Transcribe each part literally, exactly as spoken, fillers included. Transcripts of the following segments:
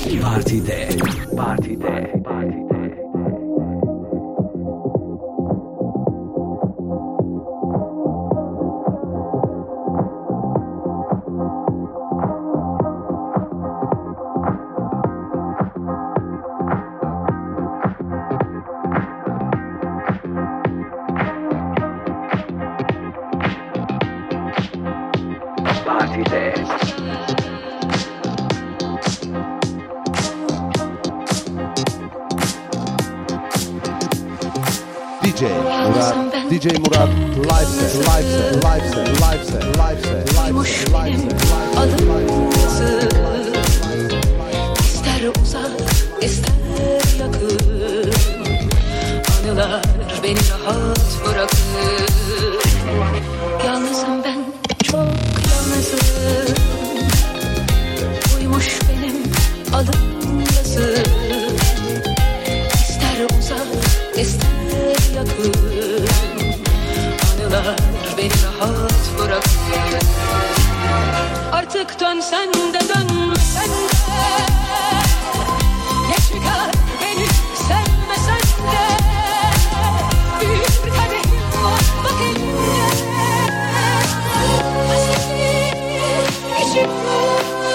Partide. Partide. Partide. D J Murat, D J Murat, live set, live set, live set, live set, live set, live set, live set, adım yazı. İster uzak, ister yakın, anılar beni rahat bırakır. Yalnızım ben, çok yalnızım. Uymuş benim adım yazı. İster uzak, ister yakın, anılar beni rahat bırakır. Artık dönsen de dönmesen de, geç mi kal beni sevmesen de, büyük bir kadehim var bak elimde. Hasretim içimde.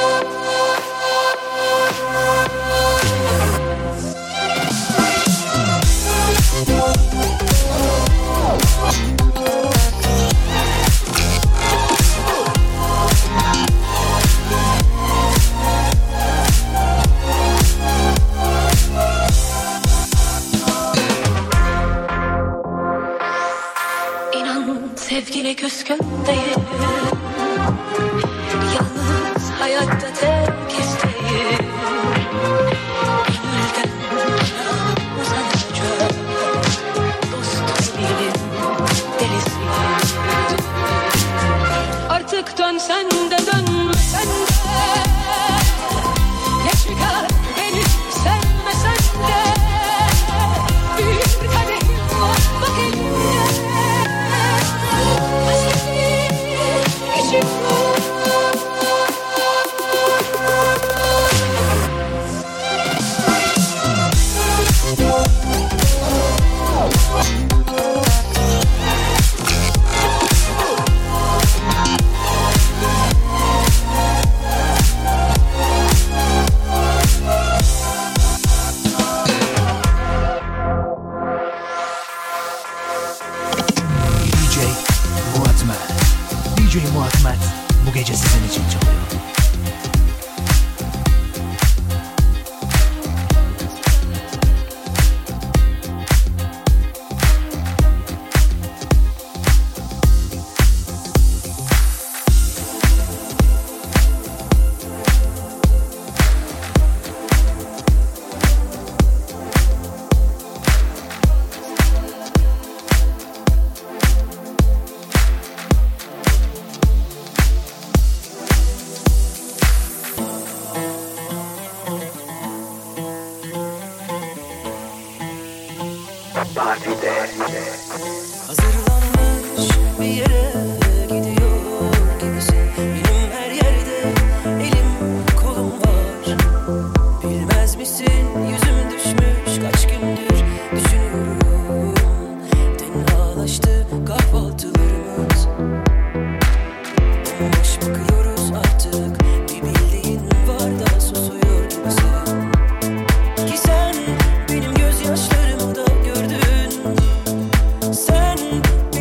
Sevgili küskündeyim, yalnız hayatta tek isteğim, gönülden bana uzanacak dost değilim, delisiyim. Artık dönsen de dönmesen de, geç mi kal beni sevmesen de, büyük bir kadehim var bak elimde. D J Murat bu gece sizin için çalıyor. Hazırlanmış bir yere gidiyor gibisin. Benim her yerde elim kolum var. Bilmez misin yüzüm düşmüş kaç gündür düşünüyorum. Tenhalaştı kahvaltılarımız. Bomboş bakıyoruz artık. Bir bildiğin var da susuyor gibisin. Ki sen benim gözyaşlarımı da gördün. Sen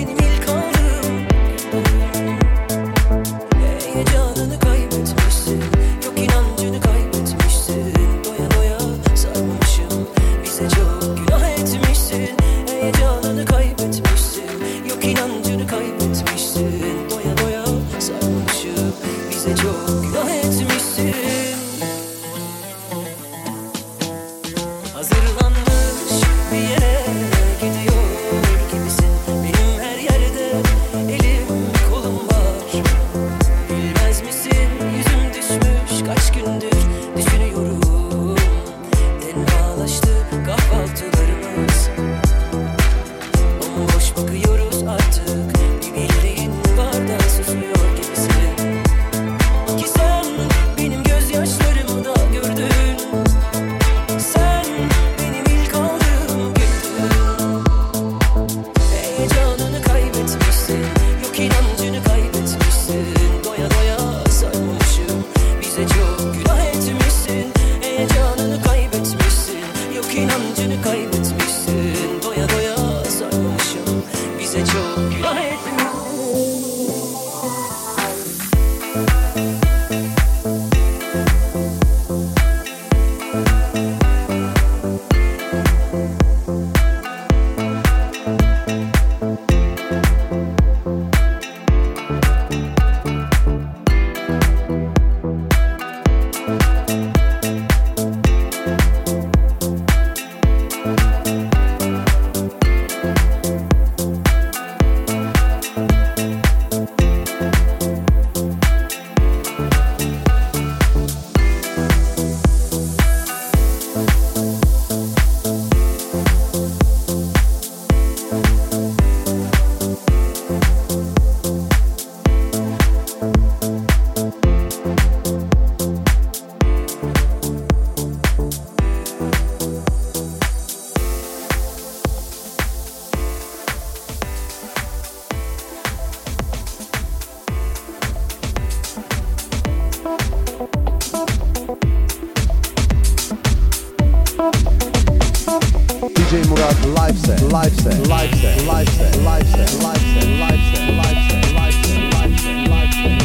D J Murat live set, live set, live set, live set, live set, live set, live set, live set, live set, live set, live set.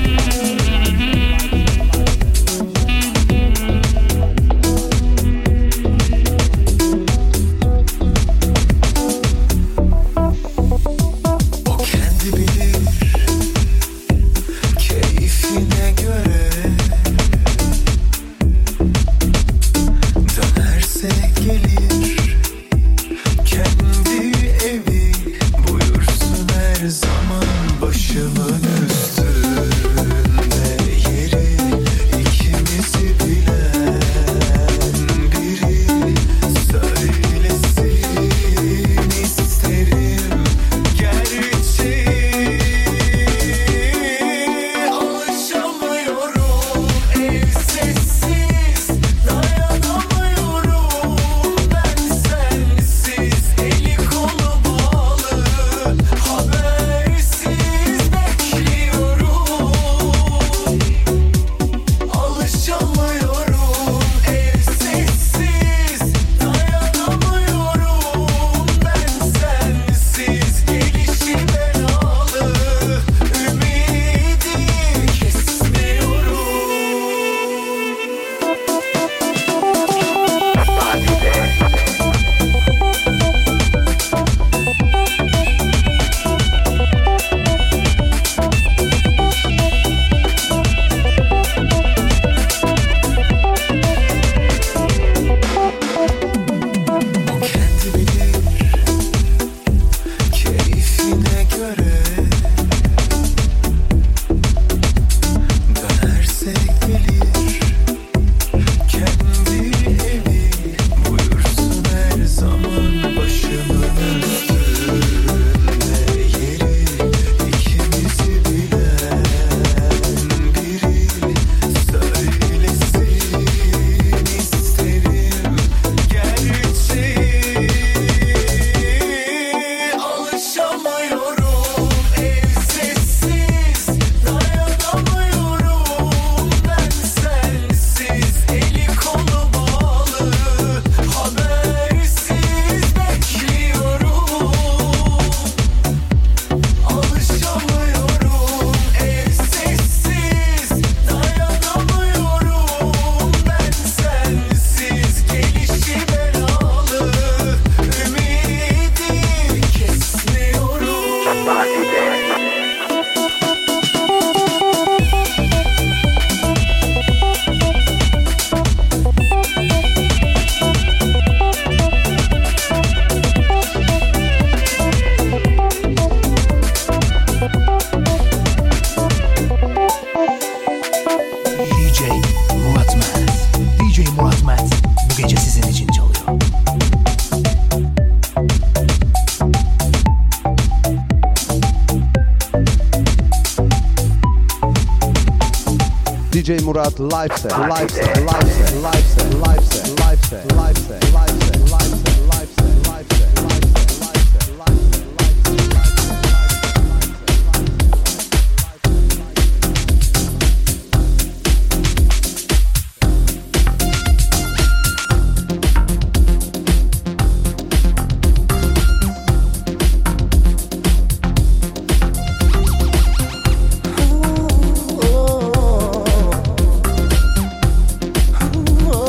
D J Murat live set, live set, live set, live set, live set, live set, live set, live set, live set, live set, live set, live set. Oh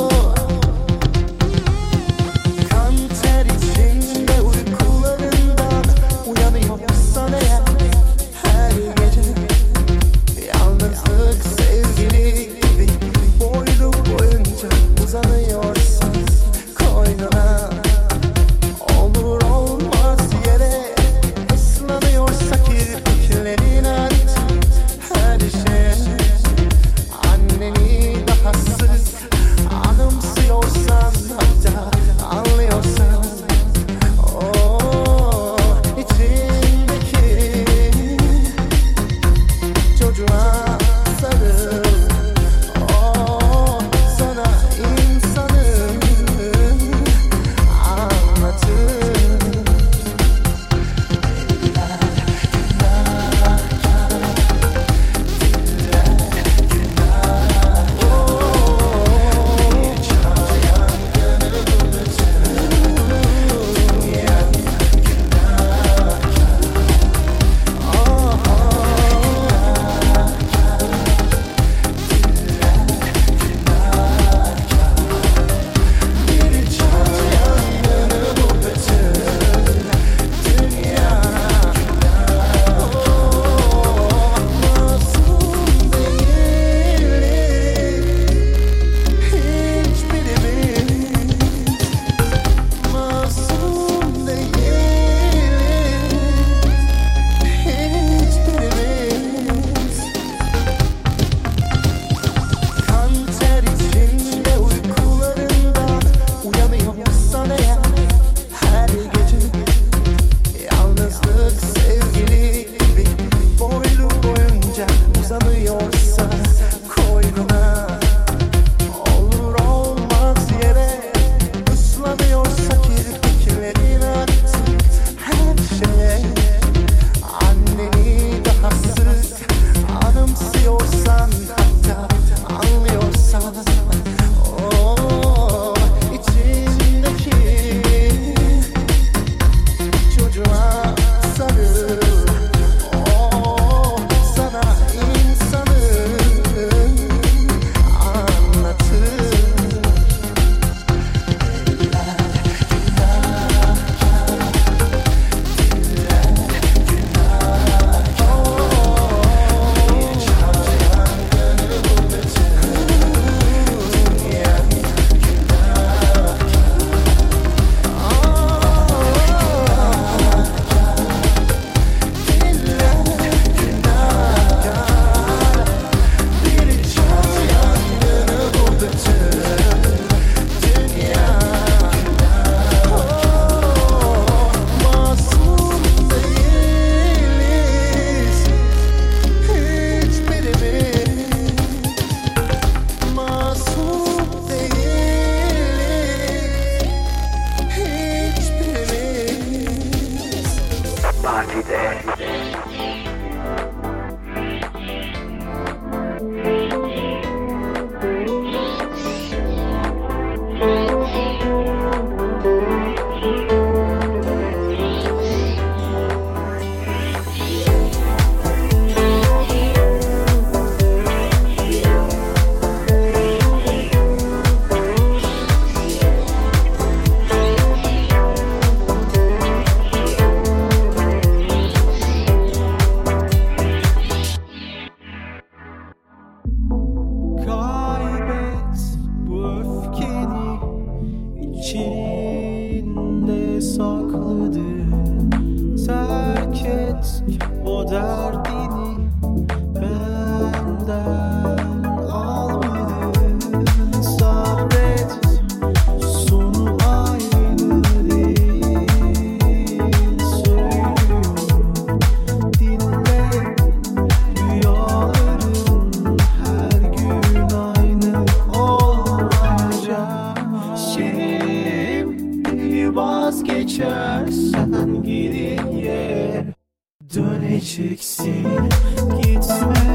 vazgeçersen geriye döneceksin. Gitme,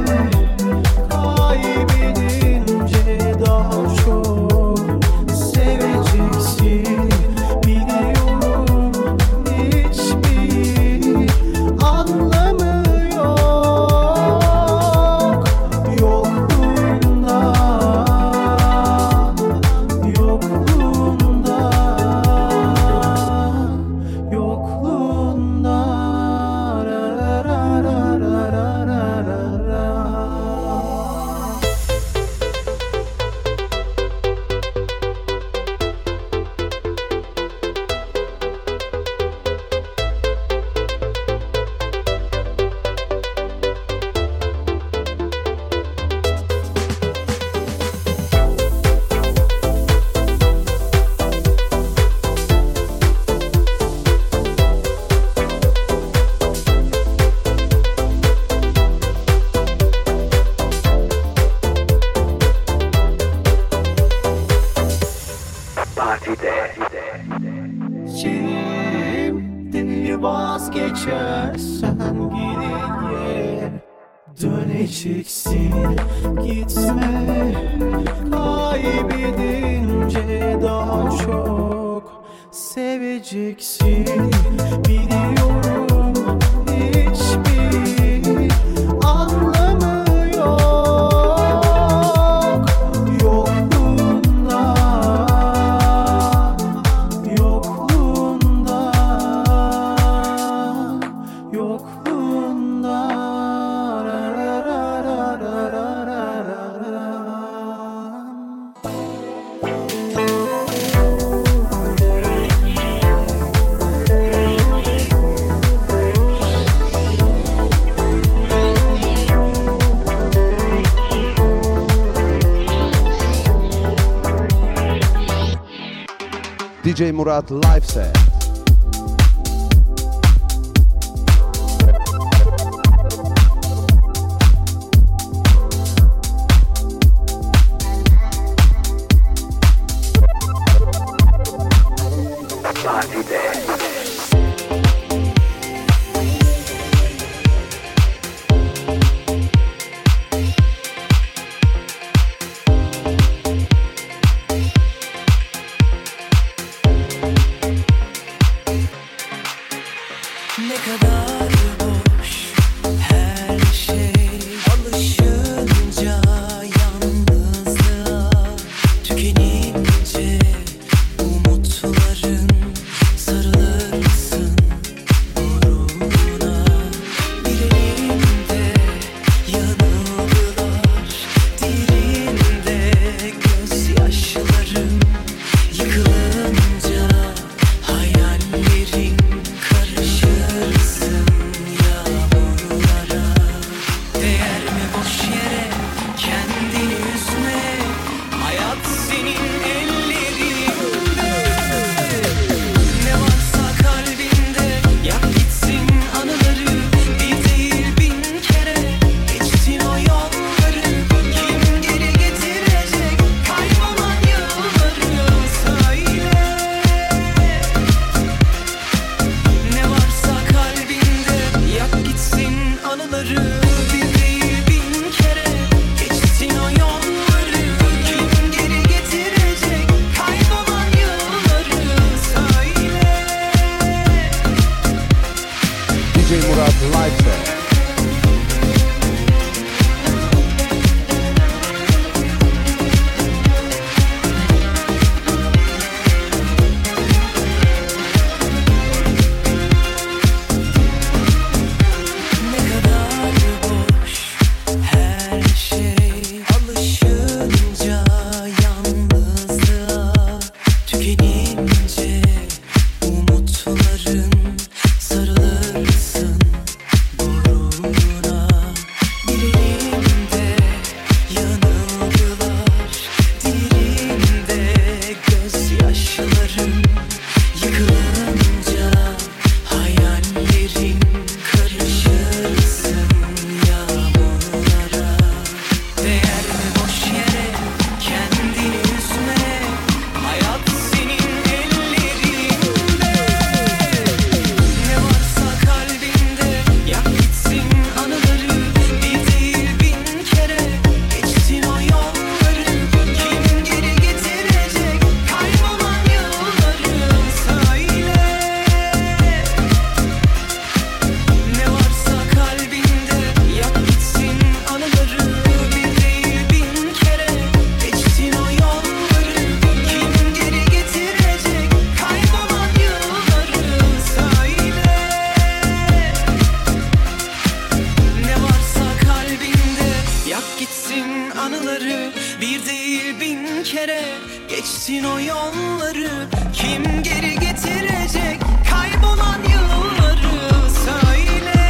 kaybedince daha çok seveceksin. Biliyorum hiçbir anlamı yok yokluğunda, yokluğunda, yokluğunda. Ra ra ra ra ra ra ra ra. Şimdi vazgeçersen geriye döneceksin. Gitme, kaybedince daha çok seveceksin. Biliyorum hiçbir anlamı yok yokluğunda, yokluğunda, yokluğunda. Ra ra ra ra ra ra ra ra. D J Murat live set. Ne kadar boş her şey, alışınca yalnızlığa, tükenince umutların, sarılır mısın gururuna? Bir elinde yanıldılar, diğerinde gözyaşlarım. Yıkılınca hayallerin karışırsın yağmurlara. Değer mi boş yere kendini üzme? Hayat senin ellerinde. Ne varsa kalbinde yak gitsin anıları. Bir değil bin kere geçtin o yolları. Kim geri getirecek kaybolan yılları? Söyle. Ne varsa kalbinde yak gitsin anıları. Bir değil bin kere geçtin o yolları. Kim geri getirecek Geçtin o yolları, kim geri getirecek kaybolan yılları söyle.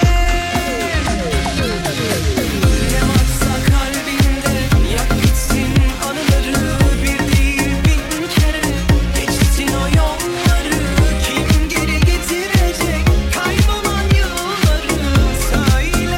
Ne varsa kalbinde yak gitsin anıları, bir değil bin kere geçtin o yolları, kim geri getirecek kaybolan yılları söyle.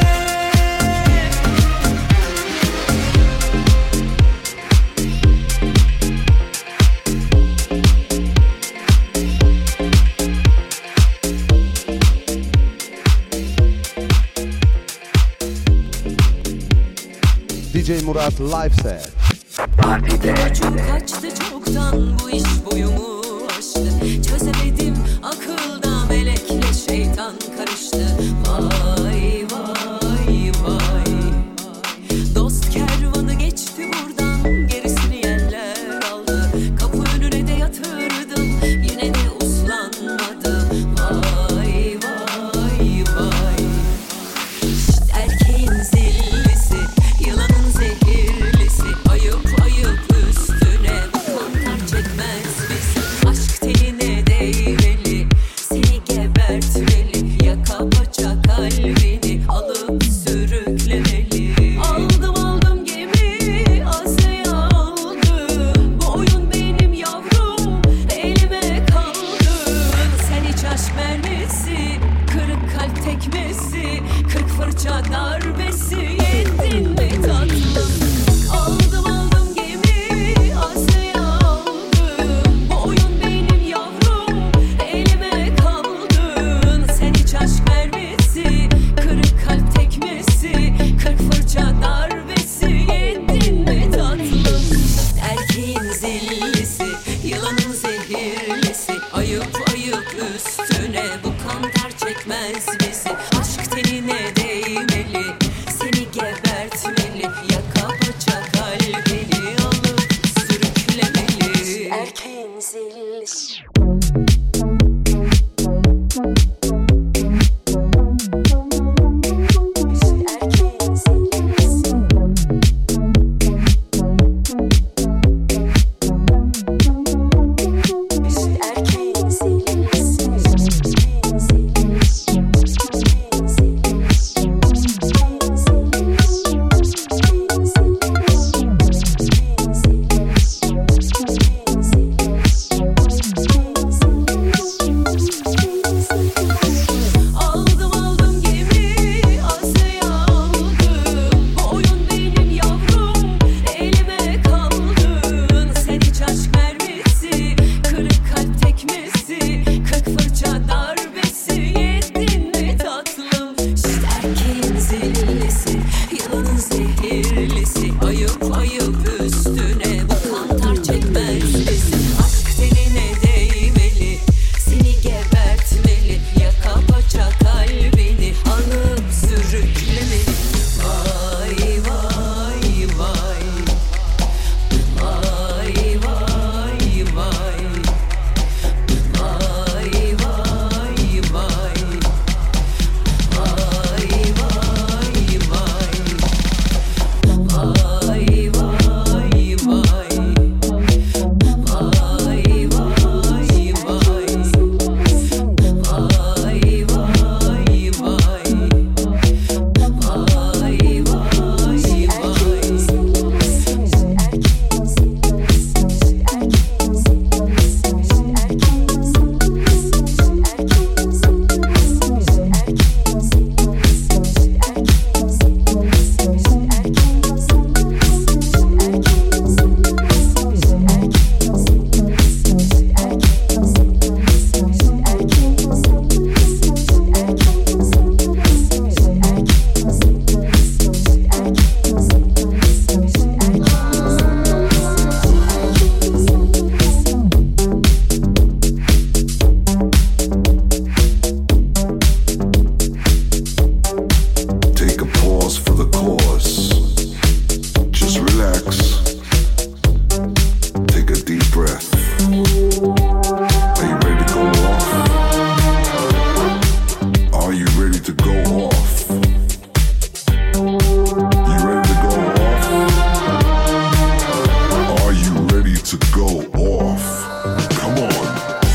D J Murat live set. Çok kaçtı çoktan bu iş boyumu aştı. Çözemedim akılda melekle şeytan karıştı. Vay vay vay. Dost kervanı geçti buradan, gerisini yerler aldı. Kapı önüne de yatırdım, yine de uslanmadım. Vay vay vay. İşte erkeğin zillisi, yılanın zehirlisi. Ayıp ayıp üstüne bu kantar çekmez bizi. Aşk teline değmeli, seni gebertmeli. Yaka paça kalbini alıp sürüklemeli. Aldım aldım gemi Asya'ya aldım. Bu oyun benim yavrum, elime kaldın. Sen hiç aşk mermisi, kırık kalp tekmesi, kırk fırça darbesi yedin mi tatlım? Aldım aldım gemi Asya'ya aldım. Bu oyun benim yavrum, elime kaldın. Sen hiç aşk mermisi, kırık kalp tekmesi, kırk fırça darbesi yedin mi tatlım? Erkeğin zillisi, yılanın zehirlisi. Ayıp ayıp üstüne bu kantar çekmez bizi. Aşk teline değmeli, seni gebertmeli. Yaka paça kalbini alıp sürüklemeli. Erkeğin zillisi. Erkeğin zillisi. Erkeğin zillisi. Erkeğin zillisi. off. Come on.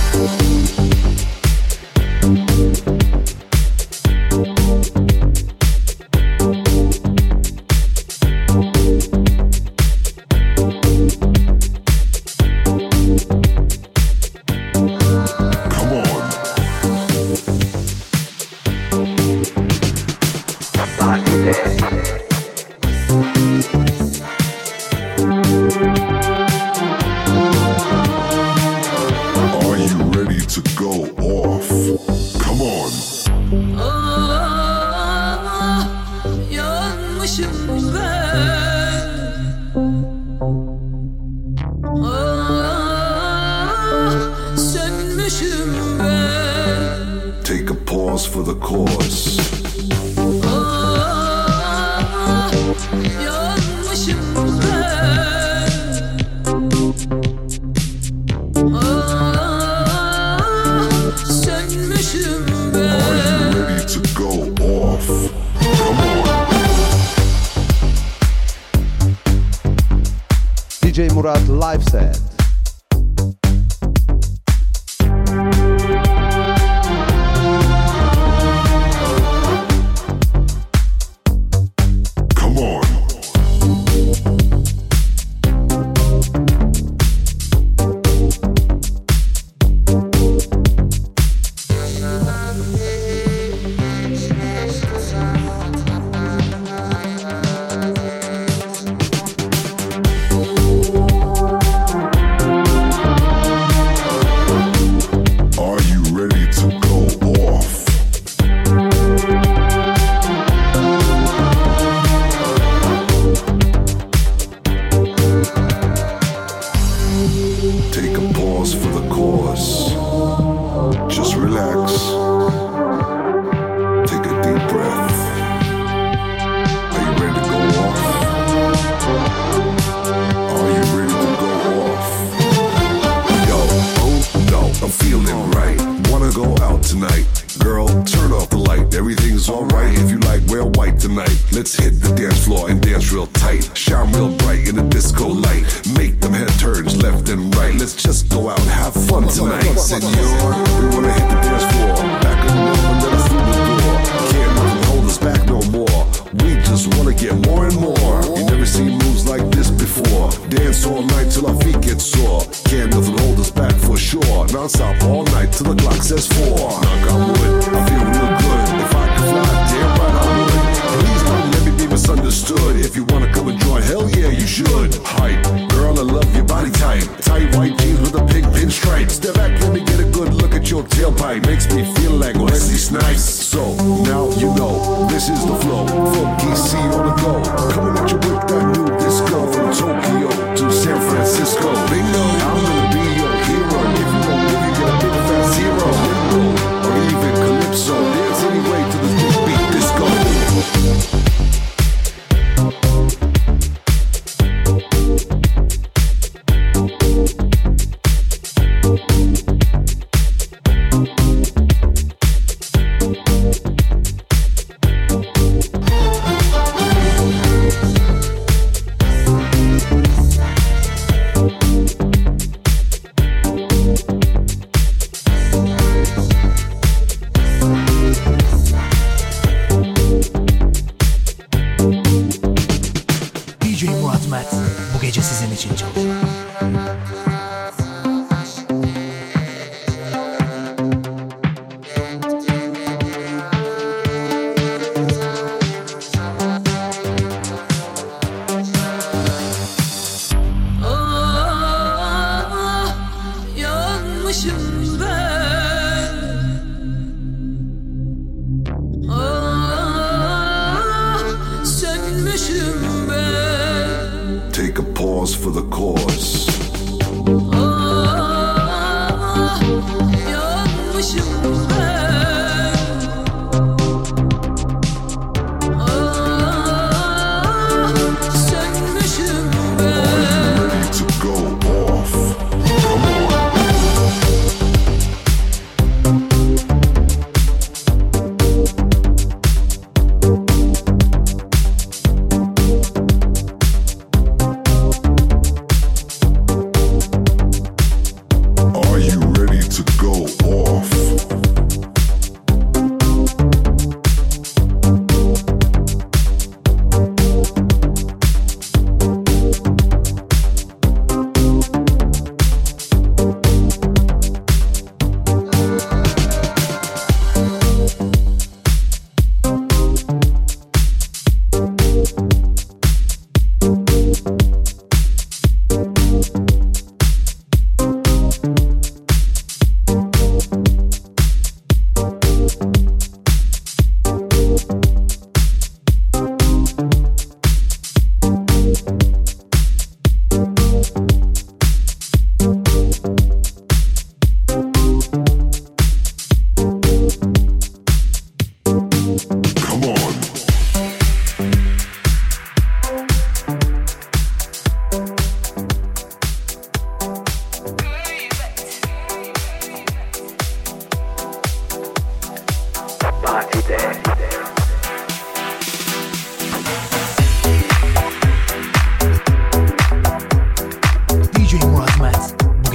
D J Murat live set.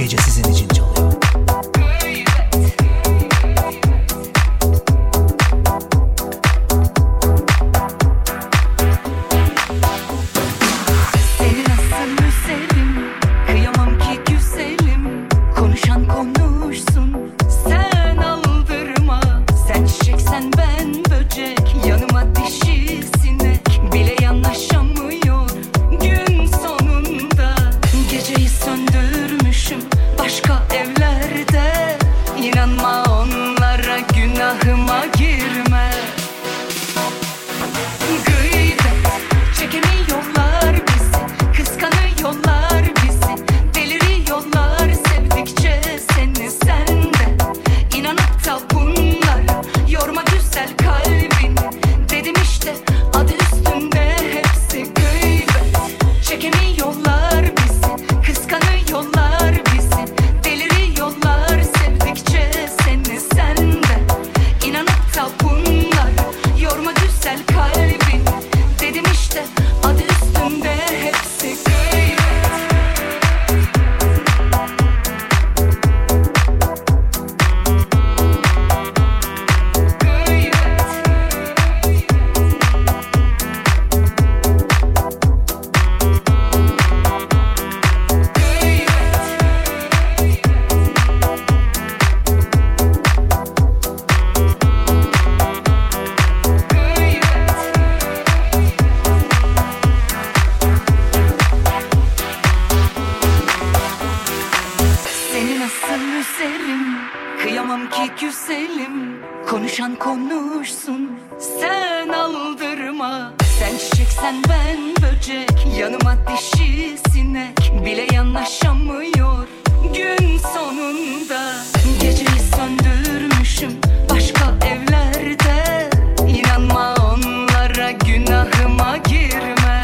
gece sizin için çalıyor. Seni nasıl üzerim, kıyamam ki güzelim. Konuşan konuşsun, sen aldırma. Sen çiçeksen ben böcek, yanıma dişi sinek. Bile yanaşamıyor gün sonunda. Geceyi söndürmüşüm başka evlerde. İnanma onlara, günahıma girme. Gıybet çekemiyorlar bizi, kıskanıyorlar bizi, deliriyorlar sevdikçe seni sende. İnanıp da bunlara yorma güzel kalbini. Dedim işte adı üstünde hepsi gıybet. Çekemiyorlar bizi, kıskanıyorlar bizi, deliriyorlar sevdikçe seni sende. İnanıp da bunlara yorma güzel kalbini. Dedim işte adı üstünde hepsi gıybet. Seni nasıl üzerim, kıyamam ki güzelim. Konuşan konuşsun, sen aldırma. Sen çiçeksen ben böcek, yanıma dişi sinek. Bile yanaşamıyor gün sonunda. Geceyi söndürmüşüm başka evlerde. İnanma onlara, günahıma girme.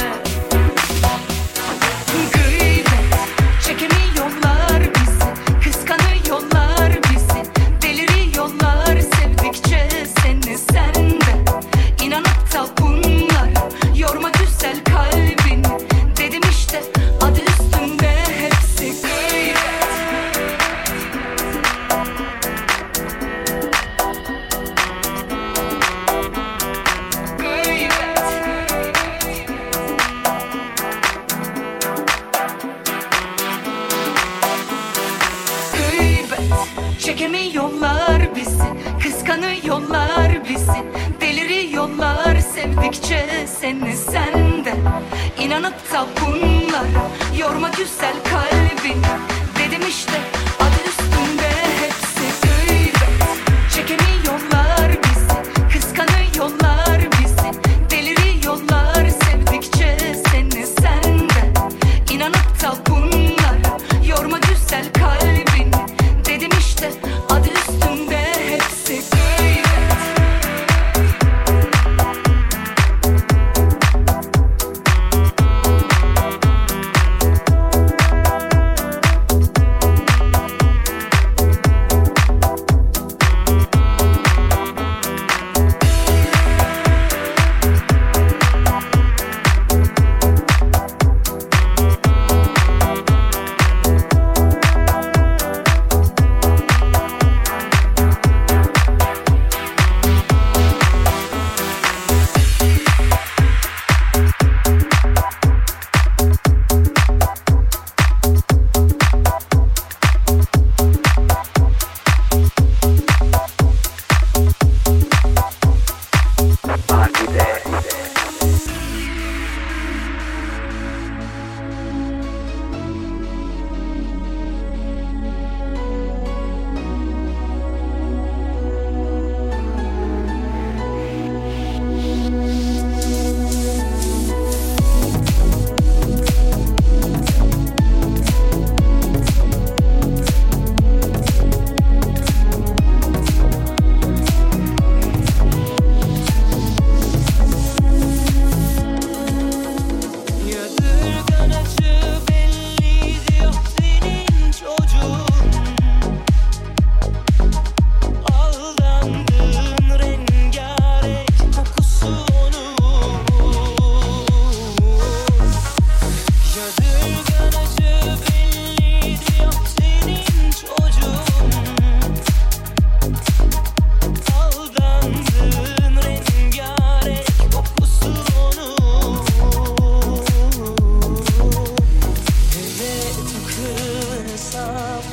Gıybet çekemiyorlar bizi, kıskanıyorlar bizi, deliriyorlar sevdikçe seni sende. İnanıp da bunlara yorma güzel kalbini. Dedim işte adı üstünde hepsi gıybet. Gıybet çekemiyorlar bizi, kıskanıyorlar bizi, deliriyorlar sevdikçe seni sende. İnanıp da bunlara yorma güzel kalbini. Dedim işte adı üstünde hepsi gıybet. Çekemiyorlar bizi, kıskanıyorlar bizi, deliriyorlar sevdikçe seni sende. İnanıp da bunlara yorma güzel kalbini. Dedim işte adı üstünde hepsi gıybet.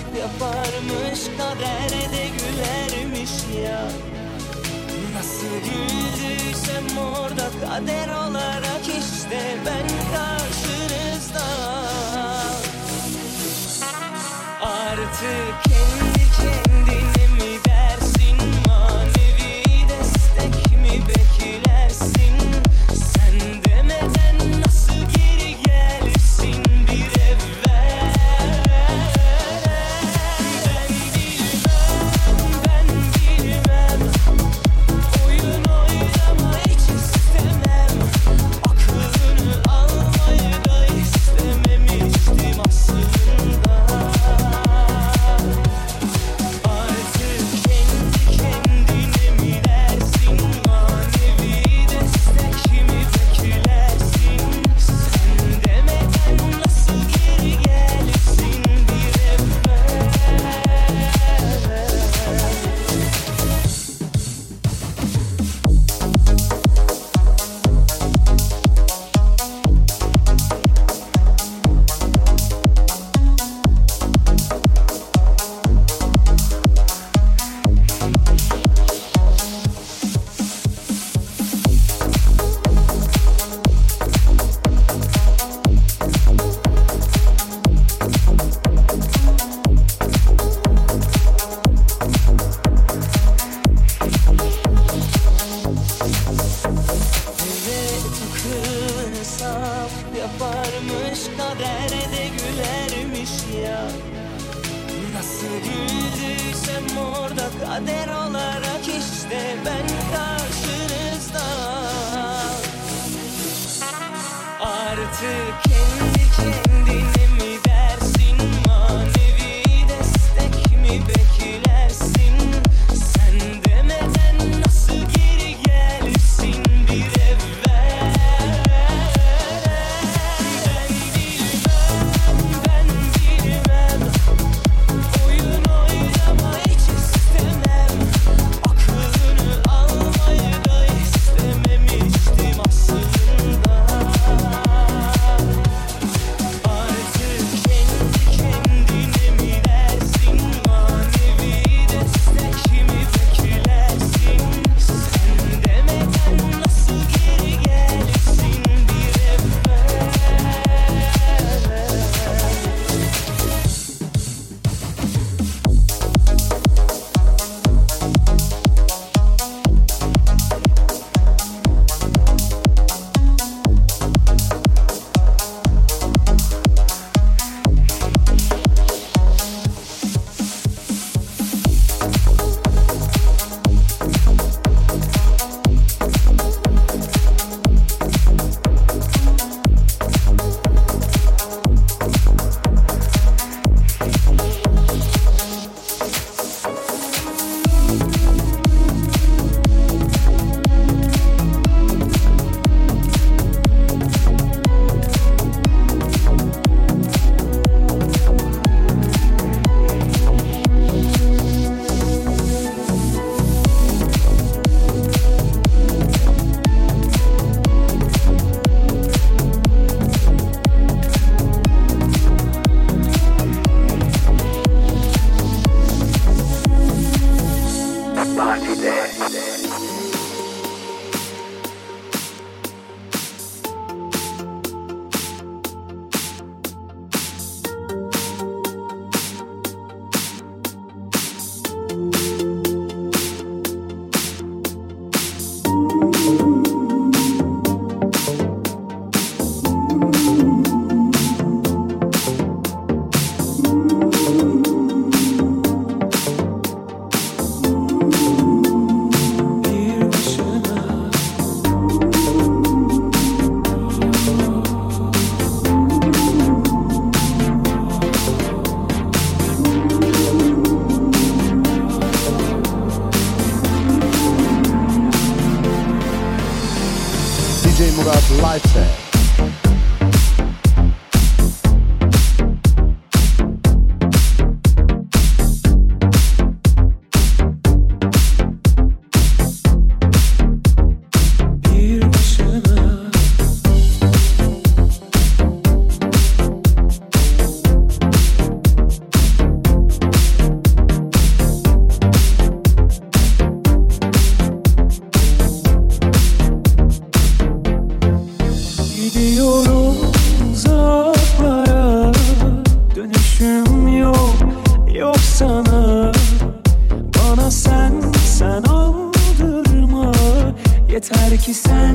yaparmış, kadere de gülermiş ya. Nasıl güldüysem orada kader olarak işte ben karşınızda. Artık kendi kendine mi dersin, manevi destek mi beklersin? Sen demeden nasıl geri gelirsin bir evvel? Ben bilmem, ben bilmem. Oyun oynama hiç istemem. Aklını almayı da istememiştim aslında. Artık kendi kendine mi dersin, manevi destek mi beklersin? Sen demeden nasıl geri gelirsin bir evvel? Evet, kılını saf yaparmış, kadere de gülermiş ya. Nasıl güldüysem orada kader olarak işte ben karşınızda. Artık kendi kendine mi dersin, manevi destek mi beklersin? Sen demeden nasıl geri gelirsin bir evvel? Ben bilmem, ben bilmem. Oyun oynama hiç istemem. Aklını almayı da istememiştim aslında. Artık kendi kendine mi dersin, manevi destek mi beklersin? Sen demeden nasıl geri gelirsin bir evvel? D J Murat live set. sana. Bana sen, sen aldırma. Yeter ki sen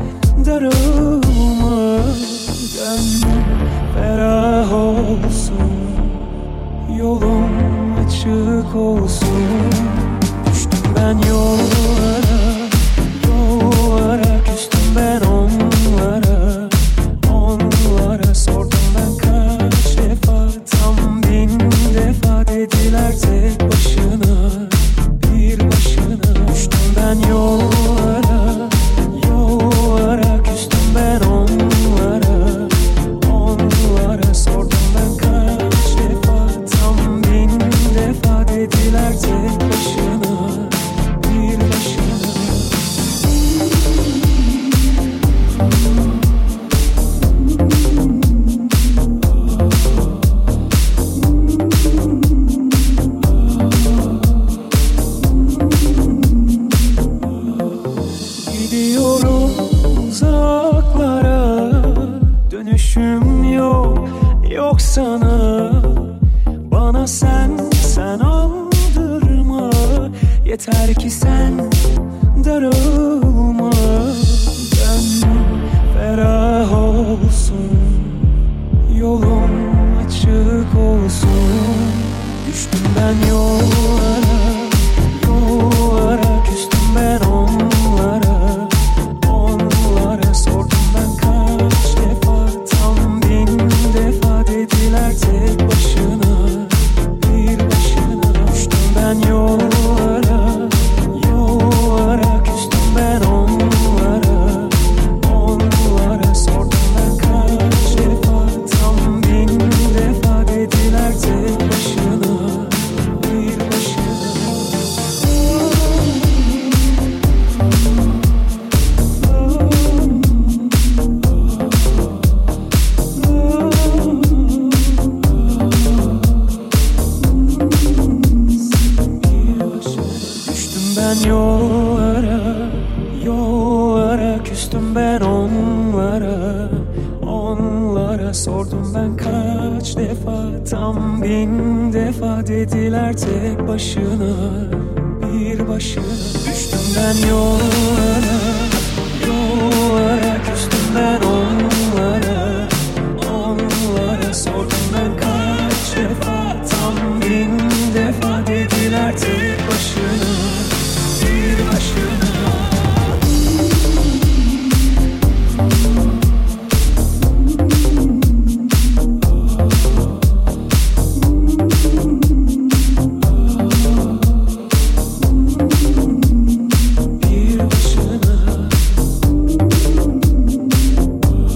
darılma. Gönlüm ferah olsun, yolum açık olsun. Düştüm ben yollara, yollara. Küstüm ben onlara, onlara. Sordum ben kaç defa, tam bin defa. Dediler tek başına, bir başına. Düştüm ben yollara, yollara. Küstüm ben onlara, onlara. Sordum ben kaç defa, tam bin defa. Dediler tek başına, bir başına. Gidiyorum uzaklara, dönüşüm yok, yok sana. Bana sen, sen aldırma. Yeter ki sen darılma. Gönlüm ferah olsun, yolum açık olsun. Düştüm ben yollara, yollara. Küstüm ben onlara, onlara. Sordum ben kaç defa, tam bin defa. Dediler tek başına, bir başına. Düştüm ben yollara, yollara. Küstüm ben onlara, onlara. Sordum ben kaç defa, tam bin defa. Dediler tek başına, bir başına. Düştüm ben yollara, yollara. Küstüm ben onlara, onlara. Sordum ben kaç defa, tam bin defa. Dediler tek başına, bir başına. Düştüm ben yollara, yollara. Küstüm ben onlara, onlara. Sordum ben kaç defa, tam bin defa. Dediler tek başına, bir başına. Bir başına.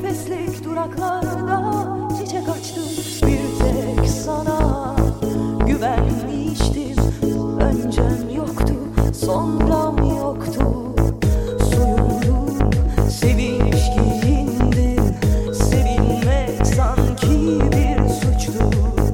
nefeslik duraklarda çiçek açtım. Bir tek sana güvenmiştim. Öncem yoktu, sonram yoktu. Soyundum, sevinç giyindim. Sevinmek sanki bir suçtu.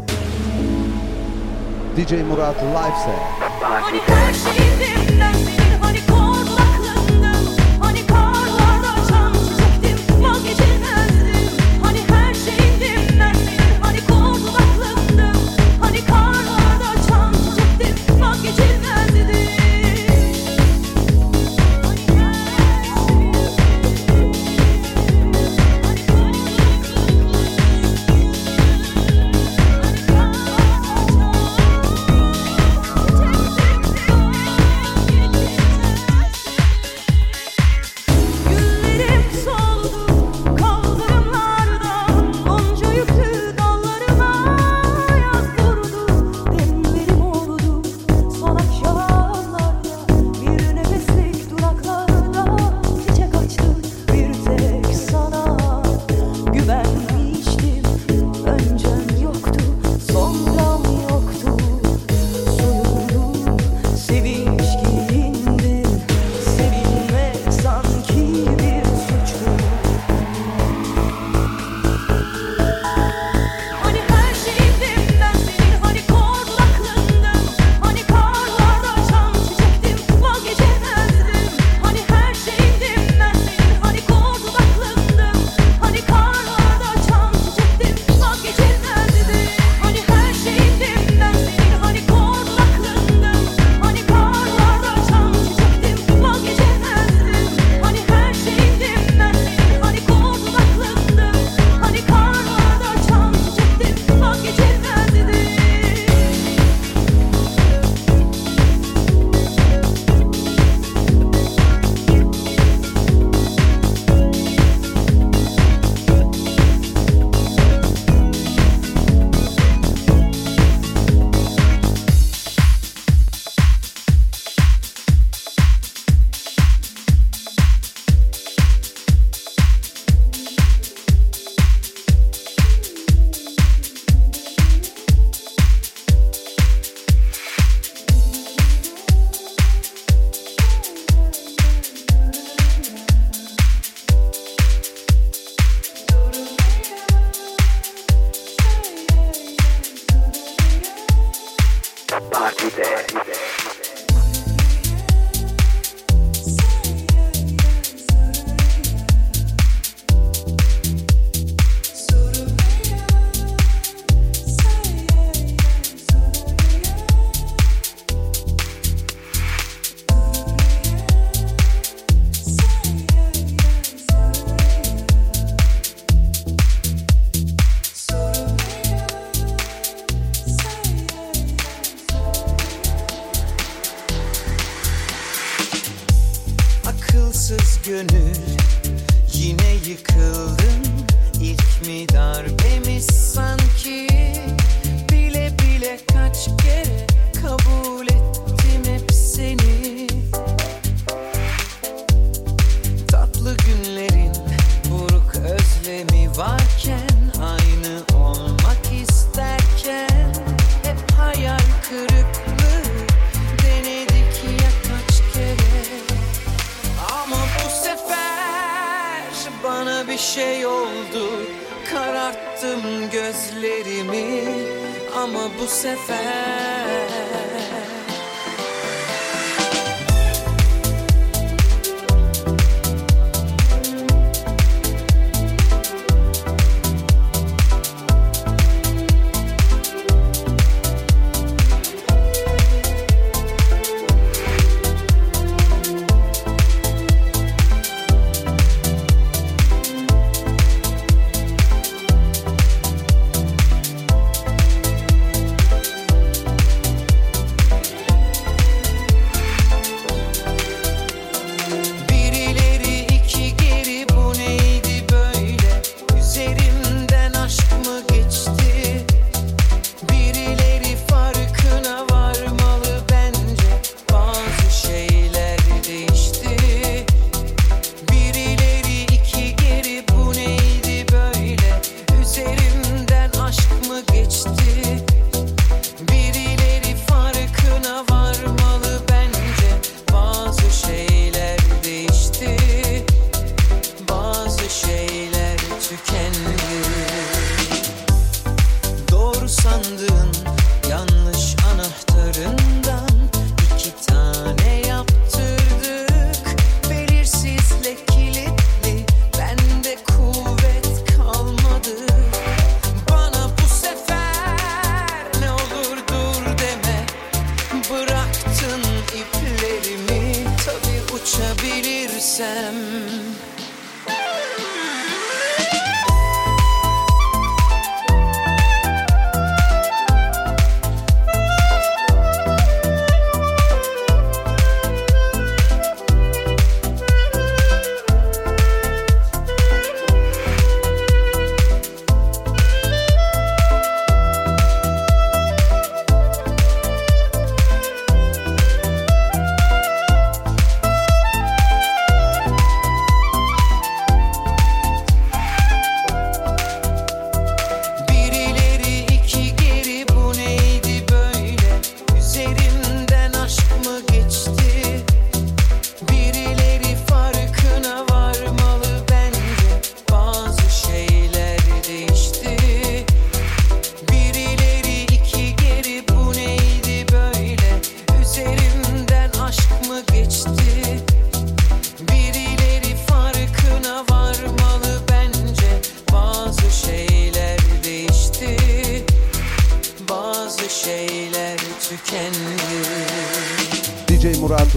D J Murat live set. Hani her şeydim ben senin, hani korkak aklındım. Hani karlarda çam çiçektim, vazgeçilmezdim. Hani her şeydim ben senin, hani korkak aklındım. Hani karlarda çam çiçektim, vazgeçilmezdim. Akılsız gönül yine yıkıldım. İlk mi darbemiz sanki? Bile bile kaç kere kabul ettim hep seni. Tatlı günlerin buruk özlemi varken, aynı olmak isterken hep hayal kırıklığı denedik ya kaç kere. Ama bu sefer bana bir şey oldu, kararttım gözlerimi. Ama bu sefer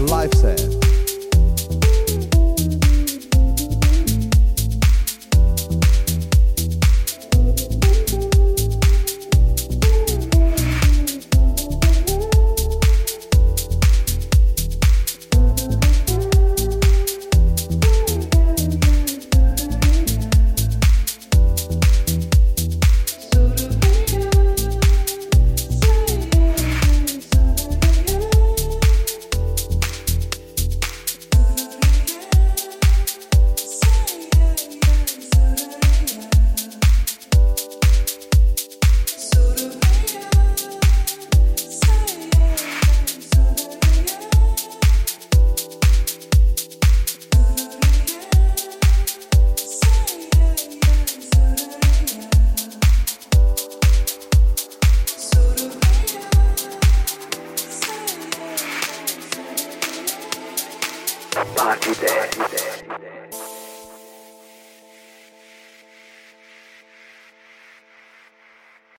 life set.